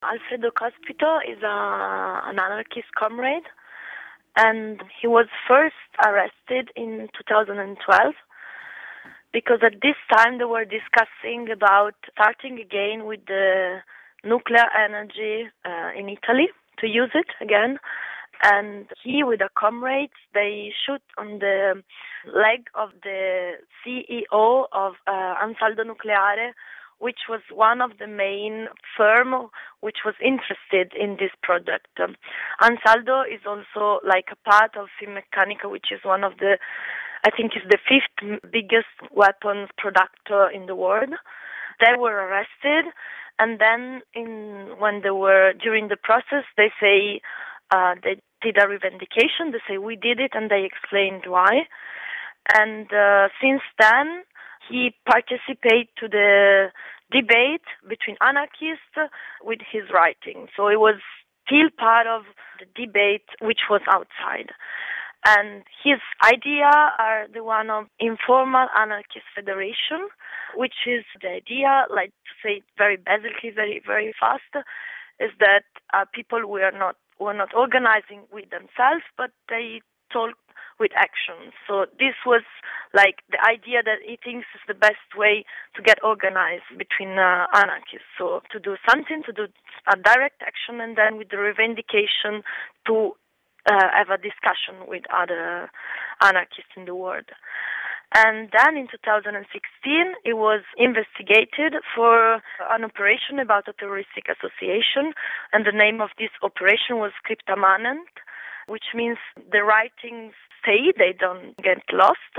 Alfredo Cospito is an anarchist comrade, and he was first arrested in 2012 because at this time they were discussing about starting again with the nuclear energy in Italy, to use it again. And he, with a comrade, they shoot on the leg of the CEO of Ansaldo Nucleare, which was one of the main firm which was interested in this project. Ansaldo is also like a part of Finmeccanica, which is one of the, I think is the fifth biggest weapons producer in the world. They were arrested, and then when they were during the process, they say they did a revendication. They say we did it, and they explained why. And since then, he participated to the debate between anarchists with his writing. So it was still part of the debate, which was outside. And his idea are the one of informal anarchist federation, which is the idea, like to say it very basically, very, very fast, is that people were not organizing with themselves, but they talk with actions. So this was like the idea that he thinks is the best way to get organized between anarchists. So to do something, to do a direct action, and then with the revendication to have a discussion with other anarchists in the world. And then in 2016, it was investigated for an operation about a terroristic association, and the name of this operation was Scripta Manent, which means the writings stay, they don't get lost.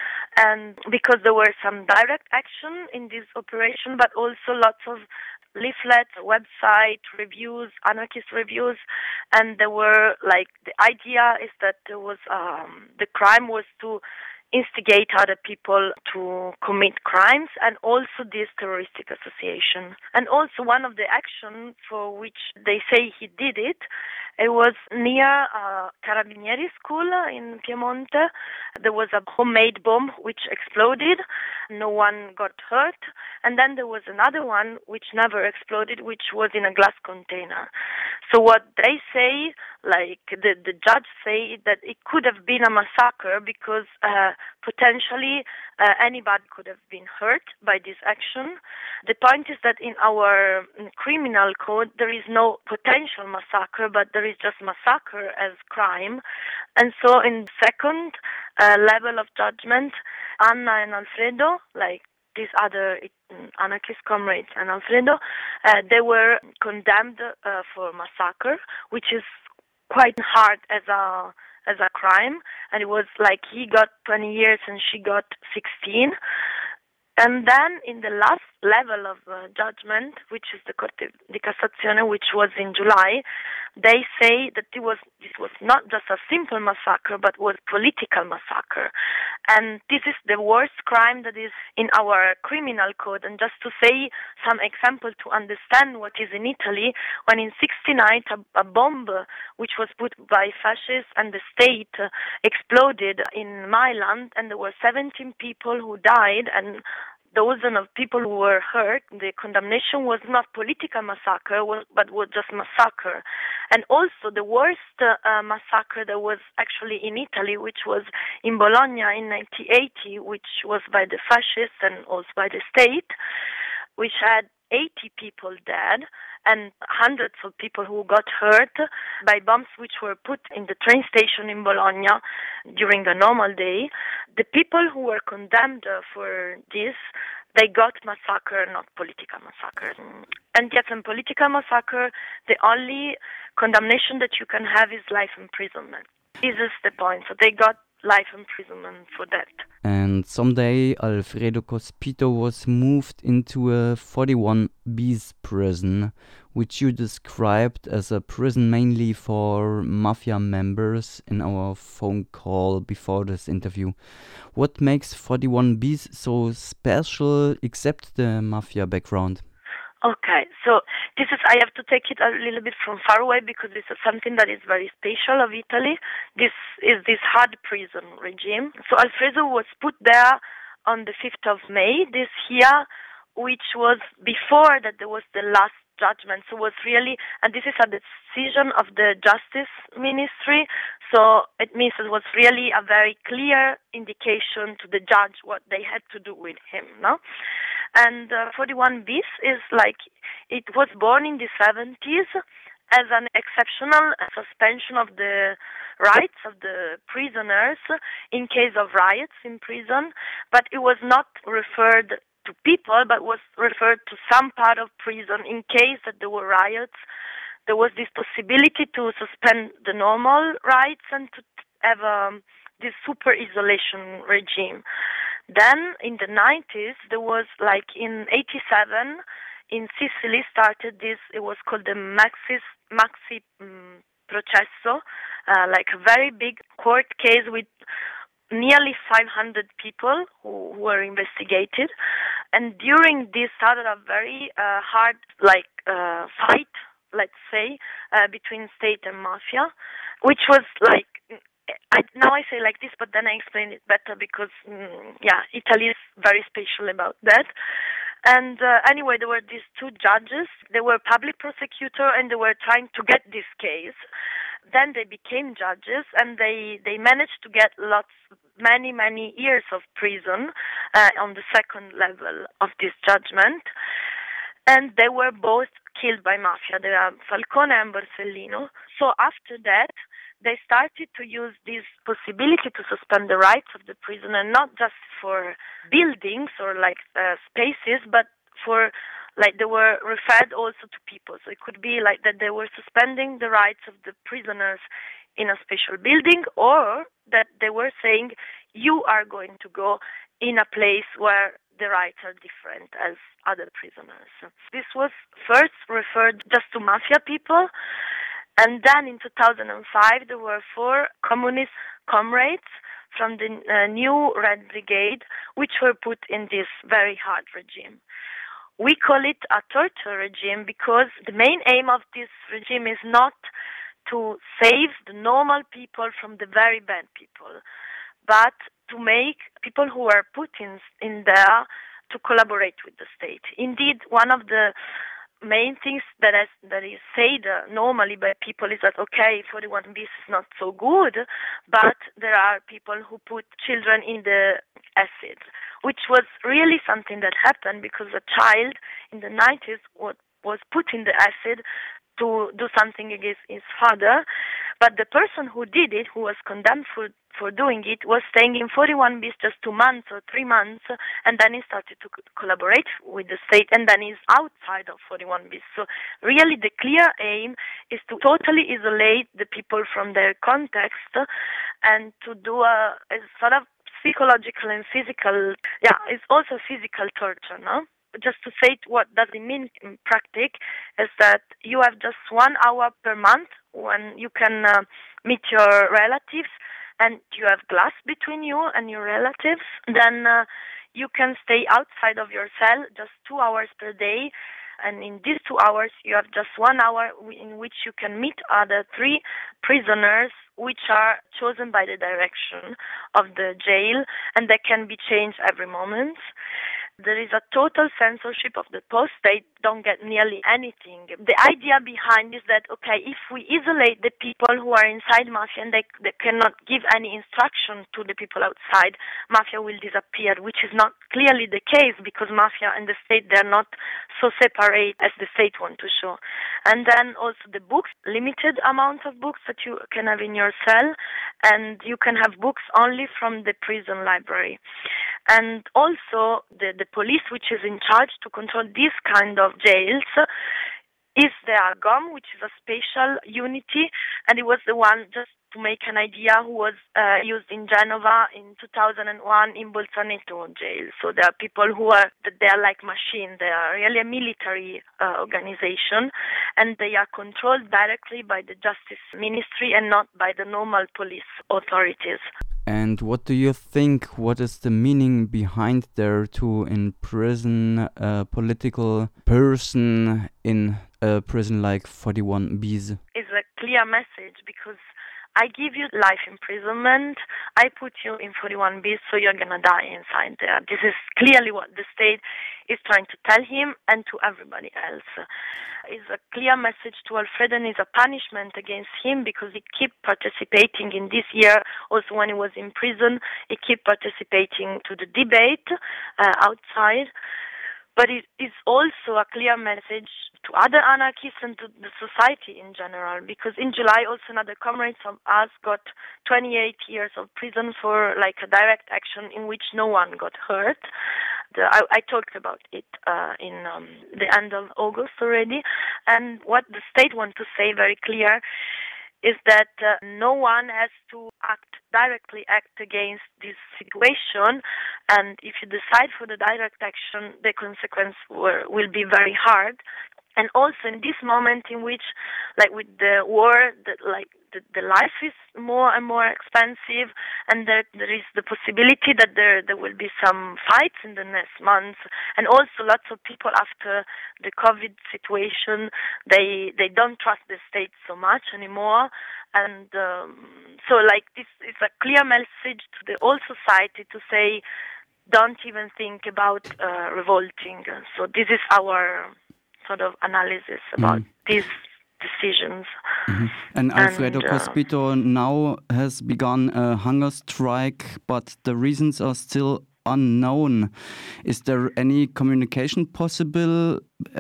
And because there were some direct action in this operation, but also lots of leaflets, website reviews, anarchist reviews, and there were like the idea is that there was the crime was to instigate other people to commit crimes, and also this terroristic association. And also one of the actions for which they say he did it, it was near Carabinieri school in Piemonte. There was a homemade bomb which exploded. No one got hurt. And then there was another one which never exploded, which was in a glass container. So what they say, like the judge say, that it could have been a massacre because potentially anybody could have been hurt by this action. The point is that in our criminal code there is no potential massacre, but there is just massacre as crime. And so in second level of judgment, Anna and Alfredo, like these other anarchist comrades and Alfredo, they were condemned for massacre, which is quite hard as a crime, and it was like he got 20 years and she got 16. And then in the last level of judgment, which is the Corte di Cassazione, which was in July, they say that this was not just a simple massacre, but was political massacre. And this is the worst crime that is in our criminal code. And just to say some example to understand what is in Italy, when in 1969 a bomb which was put by fascists and the state exploded in Milan, and there were 17 people who died and dozens of people who were hurt. The condemnation was not political massacre, but was just massacre. And also the worst massacre that was actually in Italy, which was in Bologna in 1980, which was by the fascists and also by the state, which had 80 people dead and hundreds of people who got hurt by bombs which were put in the train station in Bologna during the normal day. The people who were condemned for this, they got massacre, not political massacre. And yet in political massacre, the only condemnation that you can have is life imprisonment. This is the point. So they got life imprisonment for that. And someday Alfredo Cospito was moved into a 41 bis prison, which you described as a prison mainly for mafia members in our phone call before this interview. What makes 41 bis so special except the mafia background? Okay, so I have to take it a little bit from far away because this is something that is very special of Italy. This is this hard prison regime. So Alfredo was put there on the 5th of May this year, which was before that there was the last judgment. So it was really, and this is a decision of the Justice Ministry, so it means it was really a very clear indication to the judge what they had to do with him, no? And 41 bis is like, it was born in the 70s as an exceptional suspension of the rights of the prisoners in case of riots in prison, but it was not referred to people, but was referred to some part of prison in case that there were riots. There was this possibility to suspend the normal rights and to have this super isolation regime. Then in the 90s, there was like in 87, in Sicily started this, it was called the Maxi Processo, like a very big court case with nearly 500 people who were investigated. And during this started a very hard fight, let's say, between state and mafia, which was like, now I say like this, but then I explain it better because, Italy is very special about that. And anyway, there were these two judges. They were public prosecutor, and they were trying to get this case. Then they became judges, and they managed to get many years of prison on the second level of this judgment. And they were both killed by mafia. They are Falcone and Borsellino. So after that, they started to use this possibility to suspend the rights of the prisoner, not just for buildings or spaces, but for they were referred also to people. So it could be like that they were suspending the rights of the prisoners in a special building, or that they were saying, you are going to go in a place where the rights are different as other prisoners. This was first referred just to mafia people. And then in 2005, there were 4 communist comrades from the new Red Brigade, which were put in this very hard regime. We call it a torture regime because the main aim of this regime is not to save the normal people from the very bad people, but to make people who are put in there to collaborate with the state. Indeed, one of the main things that is said normally by people is that, okay, 41 bis is not so good, but there are people who put children in the acid, which was really something that happened because a child in the 90s was put in the acid to do something against his father, but the person who did it, who was condemned for doing it, was staying in 41 bis just 2 months or 3 months, and then he started to collaborate with the state, and then he's outside of 41 bis. So really the clear aim is to totally isolate the people from their context and to do a sort of psychological and physical, it's also physical torture, no? Just to say what does it mean in practice is that you have just 1 hour per month when you can meet your relatives, and you have glass between you and your relatives. Then you can stay outside of your cell just 2 hours per day, and in these 2 hours you have just 1 hour in which you can meet other 3 prisoners, which are chosen by the direction of the jail, and they can be changed every moment. There is a total censorship of the post. They don't get nearly anything. The idea behind is that, okay, if we isolate the people who are inside mafia and they cannot give any instruction to the people outside, mafia will disappear, which is not clearly the case because mafia and the state, they're not so separate as the state want to show. And then also the books, limited amount of books that you can have in your cell, and you can have books only from the prison library. And also the police, which is in charge to control this kind of jails, is the ARGOM, which is a special unity, and it was the one, just to make an idea, who was used in Genova in 2001 in Bolzaneto jail. So there are people they are like machines. They are really a military organization, and they are controlled directly by the Justice Ministry and not by the normal police authorities. And what do you think? What is the meaning behind there to imprison a political person in a prison like 41 bis? It's a clear message because I give you life imprisonment, I put you in 41 bis, so you're gonna die inside there. This is clearly what the state is trying to tell him and to everybody else. It's a clear message to Alfredo and is a punishment against him because he kept participating in this year, also when he was in prison, he kept participating to the debate outside. But it is also a clear message to other anarchists and to the society in general, because in July also another comrade of us got 28 years of prison for like a direct action in which no one got hurt. I talked about it in the end of August already, and what the state wants to say very clear is that no one has to directly act against this situation, and if you decide for the direct action, the consequence will be very hard. And also in this moment in which, like with the war, the life is more and more expensive, and there is the possibility that there will be some fights in the next months, and also lots of people after the COVID situation, they don't trust the state so much anymore, and so like this is a clear message to the whole society to say, don't even think about revolting. So this is our sort of analysis about these decisions. And Alfredo Cospito now has begun a hunger strike, but the reasons are still unknown. Is there any communication possible,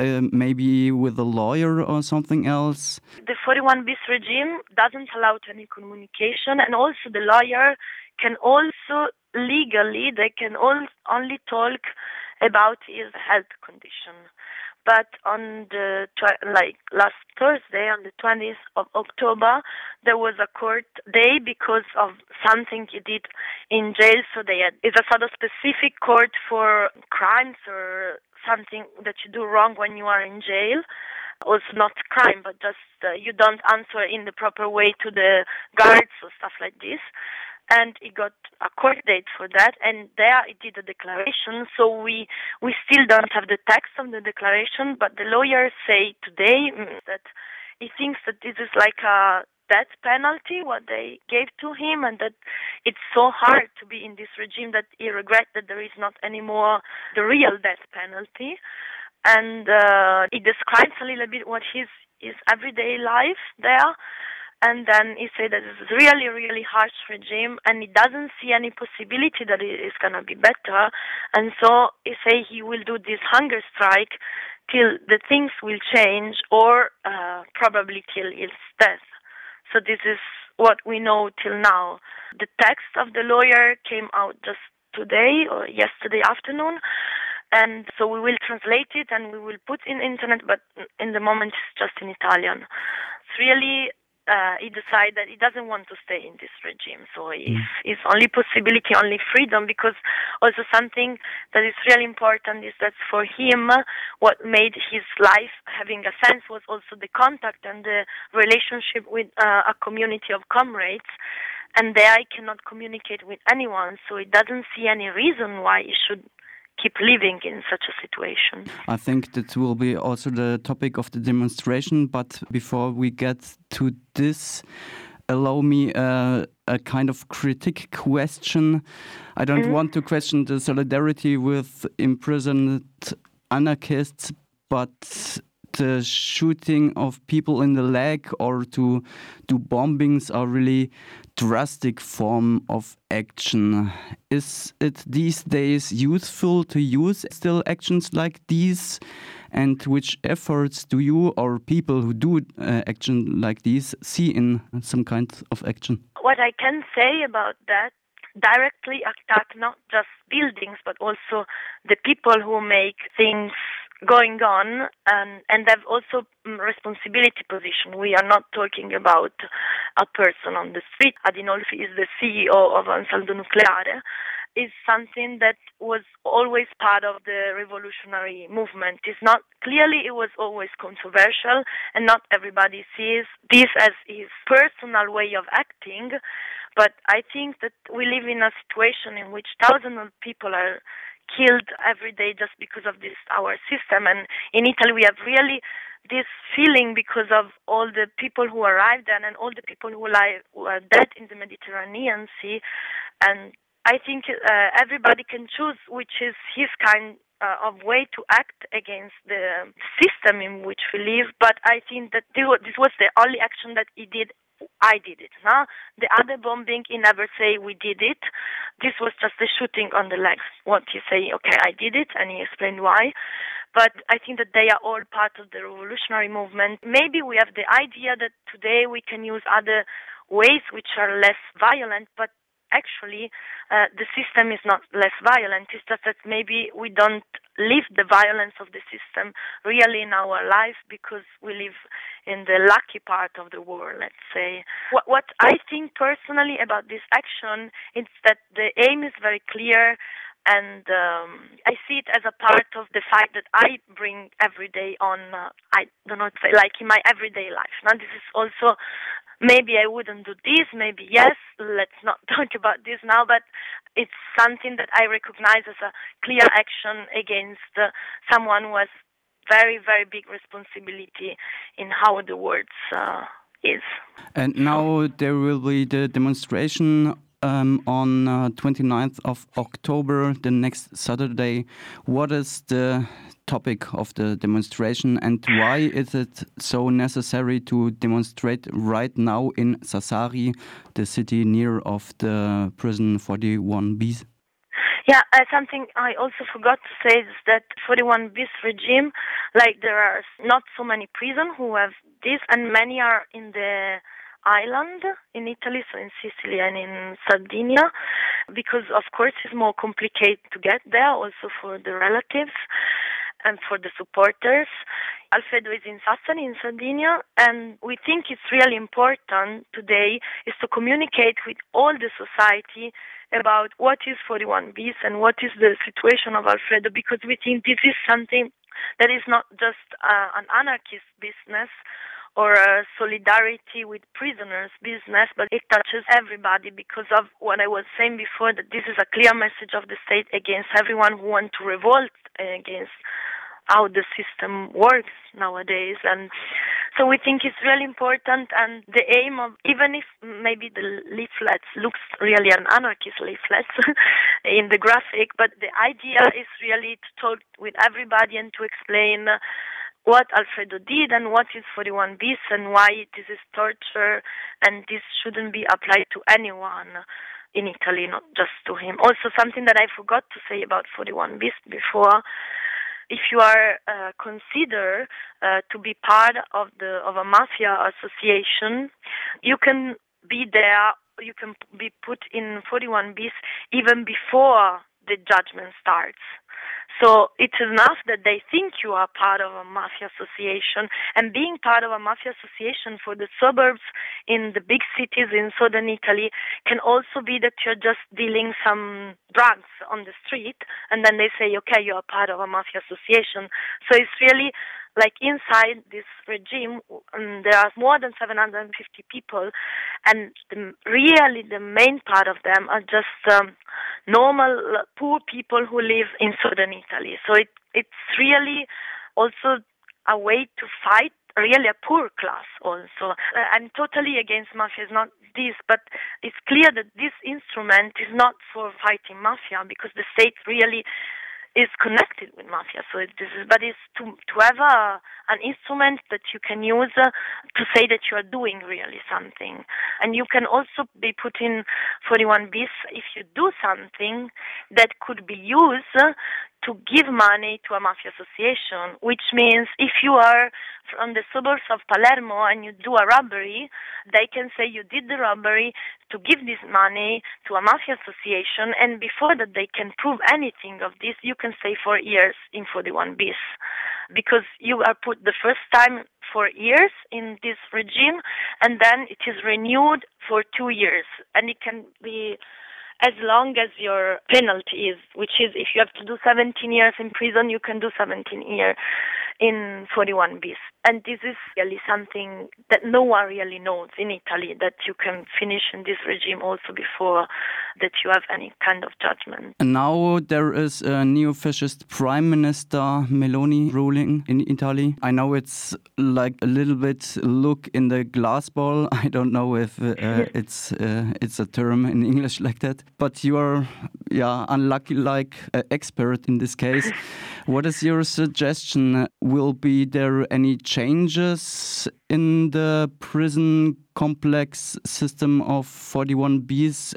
maybe with a lawyer or something else? The 41 bis regime doesn't allow any communication, and also the lawyer can also legally, they can only talk about his health condition. But on the last Thursday, on the 20th of October, there was a court day because of something he did in jail. So it's a sort of specific court for crimes or something that you do wrong when you are in jail. Also not crime, but just you don't answer in the proper way to the guards or stuff like this. And he got a court date for that, and there he did a declaration. So we still don't have the text of the declaration, but the lawyers say today that he thinks that this is like a death penalty, what they gave to him, and that it's so hard to be in this regime that he regrets that there is not anymore the real death penalty. And he describes a little bit what his everyday life there. And then he said that it's a really, really harsh regime, and he doesn't see any possibility that it is going to be better. And so he say he will do this hunger strike till the things will change, or probably till his death. So this is what we know till now. The text of the lawyer came out just today or yesterday afternoon. And so we will translate it and we will put in internet, but in the moment it's just in Italian. It's really... he decided that he doesn't want to stay in this regime. So his only possibility, only freedom, because also something that is really important is that for him, what made his life having a sense was also the contact and the relationship with a community of comrades. And there he cannot communicate with anyone, so he doesn't see any reason why he should keep living in such a situation. I think that will be also the topic of the demonstration, but before we get to this, allow me a kind of critique question. I don't want to question the solidarity with imprisoned anarchists, but the shooting of people in the leg or to do bombings are really drastic form of action. Is it these days useful to use still actions like these? And which efforts do you or people who do action like these see in some kind of action? What I can say about that, directly attack not just buildings but also the people who make things going on, and have also responsibility position. We are not talking about a person on the street. Adinolfi is the CEO of Ansaldo Nucleare. Is something that was always part of the revolutionary movement. It's not clearly it was always controversial, and not everybody sees this as his personal way of acting. But I think that we live in a situation in which thousands of people are killed every day just because of this our system. And in Italy we have really this feeling because of all the people who arrived then and all the people who are dead in the Mediterranean Sea. And I think everybody can choose which is his kind of way to act against the system in which we live. But I think that this was the only action that he did. I did it. No? The other bombing, he never say we did it. This was just a shooting on the legs. What he say, okay, I did it, and he explained why. But I think that they are all part of the revolutionary movement. Maybe we have the idea that today we can use other ways which are less violent, but actually the system is not less violent. It's just that maybe we don't live the violence of the system really in our life because we live in the lucky part of the world, let's say. What I think personally about this action is that the aim is very clear, and I see it as a part of the fight that I bring every day on, I don't know, like in my everyday life. Now this is also, maybe I wouldn't do this, maybe yes, let's not talk about this now, but it's something that I recognize as a clear action against someone who has very, very big responsibility in how the world is. And now there will be the demonstration on 29th of October, the next Saturday. What is the topic of the demonstration and why is it so necessary to demonstrate right now in Sassari, the city near of the prison 41 bis? Yeah, something I also forgot to say is that 41 bis regime, like there are not so many prisons who have this, and many are in the island in Italy, so in Sicily and in Sardinia, because of course it's more complicated to get there, also for the relatives and for the supporters. Alfredo is in Sassari, in Sardinia, and we think it's really important today is to communicate with all the society about what is 41 bis and what is the situation of Alfredo, because we think this is something that is not just an anarchist business or a solidarity with prisoners business, but it touches everybody because of what I was saying before, that this is a clear message of the state against everyone who wants to revolt against how the system works nowadays. And so we think it's really important, and the aim of, even if maybe the leaflets looks really an anarchist leaflet in the graphic, but the idea is really to talk with everybody and to explain what Alfredo did and what is 41 bis and why this is torture and this shouldn't be applied to anyone in Italy, not just to him. Also, something that I forgot to say about 41 bis before, if you are considered to be part of a mafia association, you can be there, you can be put in 41 bis even before the judgment starts. So it's enough that they think you are part of a mafia association, and being part of a mafia association for the suburbs in the big cities in southern Italy can also be that you're just dealing some drugs on the street, and then they say, okay, you are part of a mafia association. So it's really like inside this regime, there are more than 750 people, and really the main part of them are just normal poor people who live in southern Italy. So it's really also a way to fight really a poor class also. I'm totally against mafia, it's not this, but it's clear that this instrument is not for fighting mafia because the state really is connected with mafia. So but it's to have an instrument that you can use to say that you are doing really something. And you can also be put in 41 bis if you do something that could be used to give money to a mafia association, which means if you are from the suburbs of Palermo and you do a robbery, they can say you did the robbery to give this money to a mafia association, and before that they can prove anything of this, you can stay 4 years in 41 bis. Because you are put the first time for years in this regime, and then it is renewed for 2 years, and it can be as long as your penalty is, which is if you have to do 17 years in prison, you can do 17 years in 41 bis. And this is really something that no one really knows in Italy, that you can finish in this regime also before that you have any kind of judgment. And now there is a neo-fascist prime minister, Meloni, ruling in Italy. I know it's like a little bit look in the glass ball. I don't know if it's a term in English like that. But you are, unlucky like expert in this case. What is your suggestion? Will be there any changes in the prison complex system of 41Bs,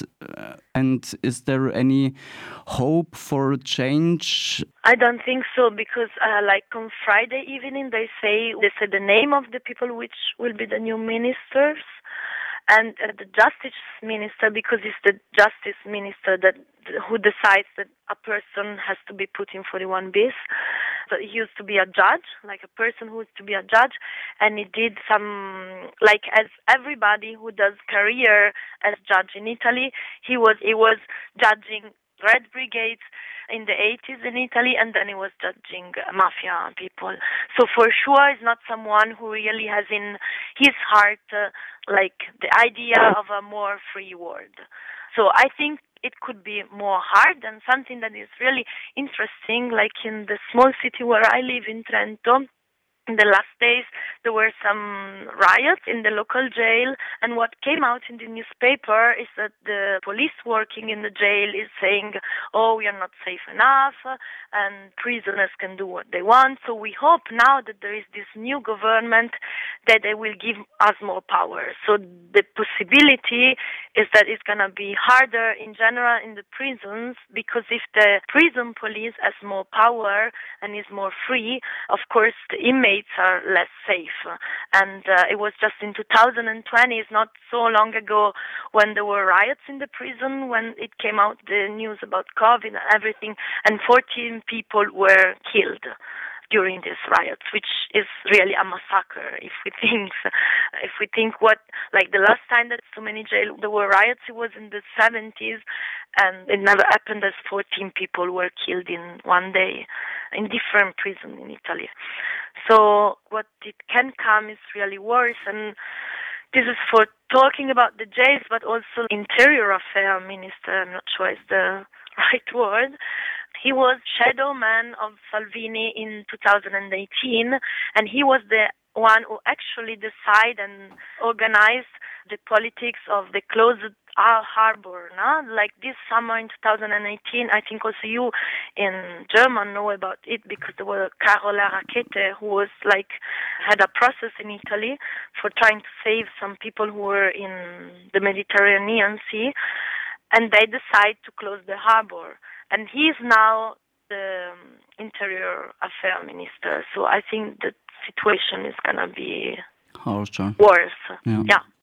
and is there any hope for change? I don't think so, because like on Friday evening they said the name of the people which will be the new ministers. And the justice minister, because it's the justice minister who decides that a person has to be put in 41 bis. So he used to be a judge, like a person who used to be a judge, and he did some, like as everybody who does career as judge in Italy, he was judging Red Brigades in the 80s in Italy, and then he was judging mafia people. So for sure, he's not someone who really has in his heart like the idea of a more free world. So I think it could be more hard, and something that is really interesting, like in the small city where I live in Trento. In the last days, there were some riots in the local jail, and what came out in the newspaper is that the police working in the jail is saying, oh, we are not safe enough, and prisoners can do what they want. So we hope now that there is this new government that they will give us more power. So the possibility is that it's going to be harder in general in the prisons, because if the prison police has more power and is more free, of course the inmates are less safe. And it was just in 2020, it's not so long ago, when there were riots in the prison, when it came out the news about COVID and everything, and 14 people were killed during these riots, which is really a massacre. If we think what, like the last time that so many jail there were riots, it was in the 70s, and it never happened as 14 people were killed in one day in different prisons in Italy. So what it can come is really worse, and this is for talking about the jails, but also Interior Affairs Minister, I'm not sure it's the right word. He was shadow man of Salvini in 2018, and he was the one who actually decided and organized the politics of the closed harbor. No? Like this summer in 2018, I think also you in German know about it, because there was Carola Rackete who was had a process in Italy for trying to save some people who were in the Mediterranean Sea, and they decided to close the harbor. And he is now the Interior Affairs Minister. So I think the situation is going to be harsher, worse. Yeah.